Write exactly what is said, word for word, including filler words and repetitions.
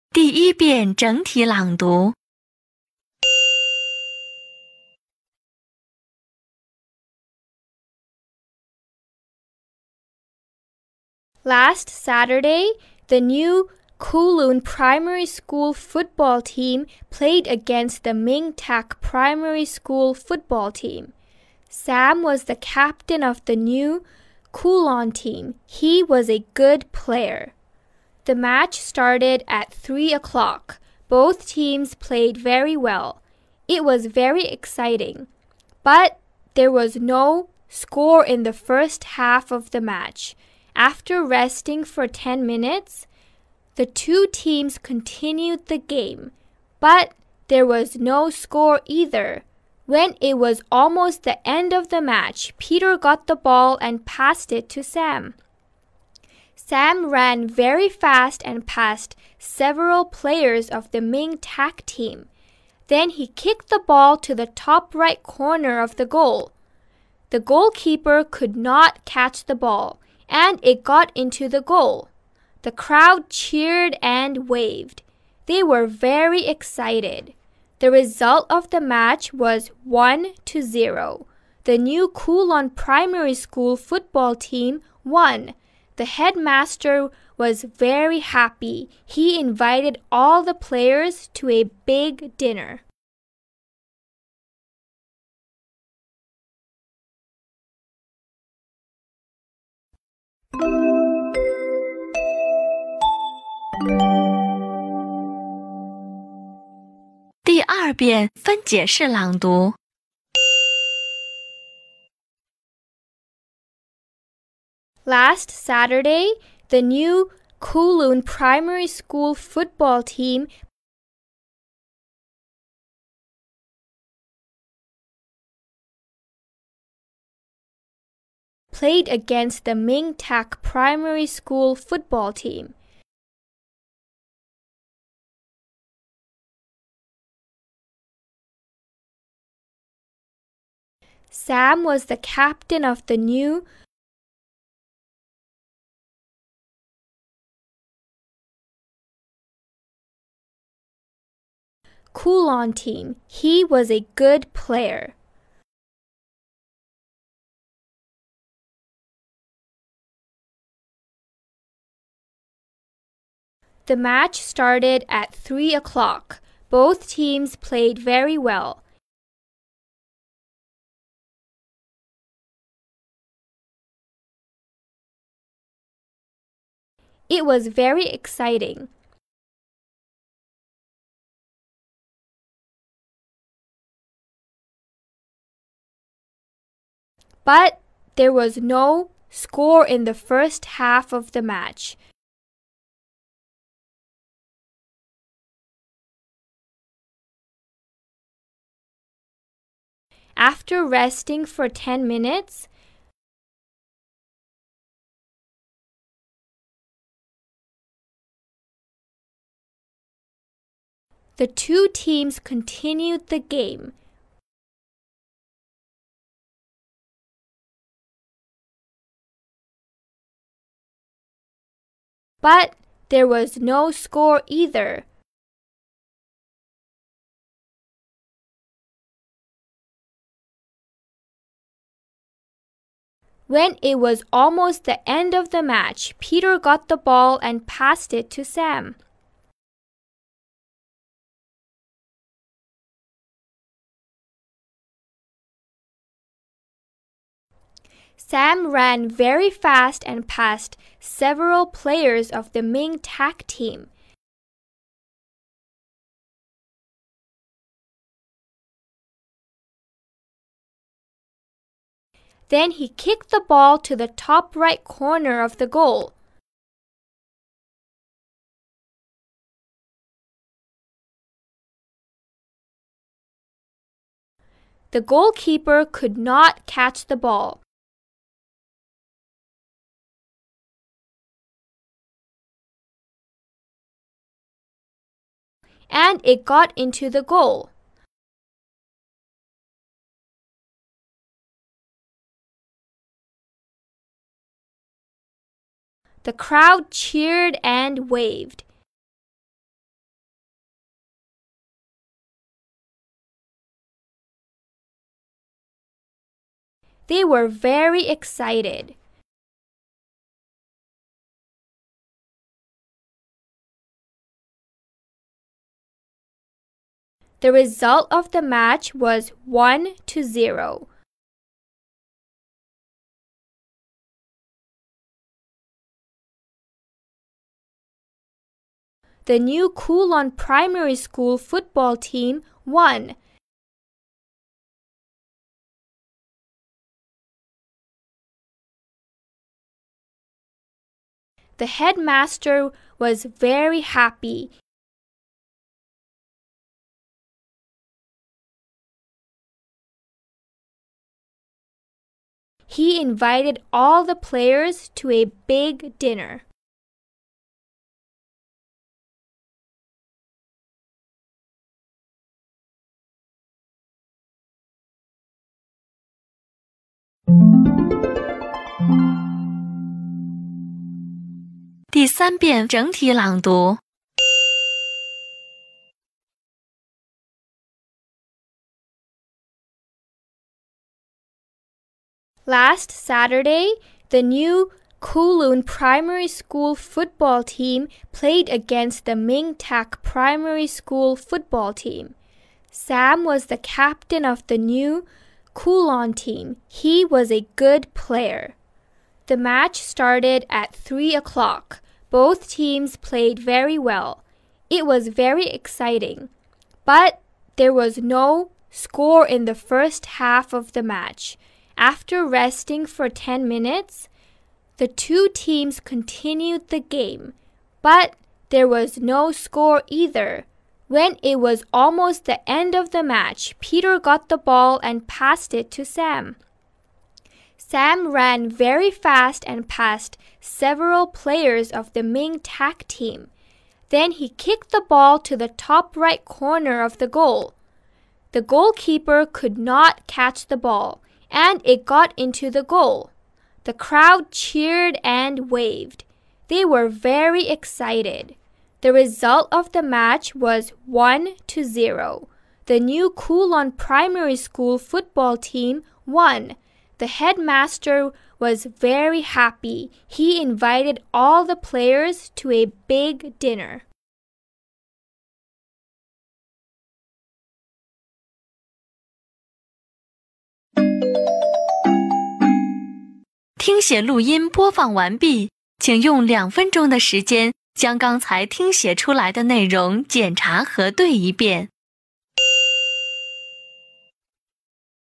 第一遍整体朗读。 Last Saturday, the new Kowloon Primary School football team played against the Ming Tak Primary School football team. Sam was the captain of the new Kowloon team. He was a good player. The match started at three o'clock. Both teams played very well. It was very exciting, but there was no score in the first half of the match. After resting for ten minutes, the two teams continued the game, but there was no score either. When it was almost the end of the match, Peter got the ball and passed it to Sam. Sam ran very fast and passed several players of the Ming Tak team. Then he kicked the ball to the top right corner of the goal. The goalkeeper could not catch the ball, and it got into the goal. The crowd cheered and waved. They were very excited. The result of the match was one to zero. The new Kowloon Primary School football team won. The headmaster was very happy. He invited all the players to a big dinner. 第二遍分解式朗读。 Last Saturday, the new Kowloon Primary School football team played against the Ming Tak Primary School football team. Sam was the captain of the new Kowloon team. He was a good player. The match started at three o'clock. Both teams played very well. It was very exciting. But there was no score in the first half of the match. After resting for ten minutes, the two teams continued the game. But there was no score either. When it was almost the end of the match, Peter got the ball and passed it to Sam. Sam ran very fast and passed several players of the Ming Tak team. Then he kicked the ball to the top right corner of the goal. The goalkeeper could not catch the ball. And it got into the goal. The crowd cheered and waved. They were very excited. The result of the match was one to zero. The new Coulon Primary School football team won. The headmaster was very happy. He invited all the players to a big dinner. Last 第三遍整体朗读。 Last Saturday, the new Coulon Primary School football team played against the Ming Tak Primary School football team. Sam was the captain of the new Coulon team. He was a good player. The match started at three o'clock. Both teams played very well. It was very exciting. But there was no score in the first half of the match. After resting for ten minutes, the two teams continued the game, but there was no score either. When it was almost the end of the match, Peter got the ball and passed it to Sam. Sam ran very fast and passed several players of the Ming Tak team. Then he kicked the ball to the top right corner of the goal. The goalkeeper could not catch the ball, and it got into the goal. The crowd cheered and waved. They were very excited. The result of the match was one to zero. The new Coulon Primary School football team won. The headmaster was very happy. He invited all the players to a big dinner. 听写录音播放完毕，请用两分钟的时间将刚才听写出来的内容检查核对一遍。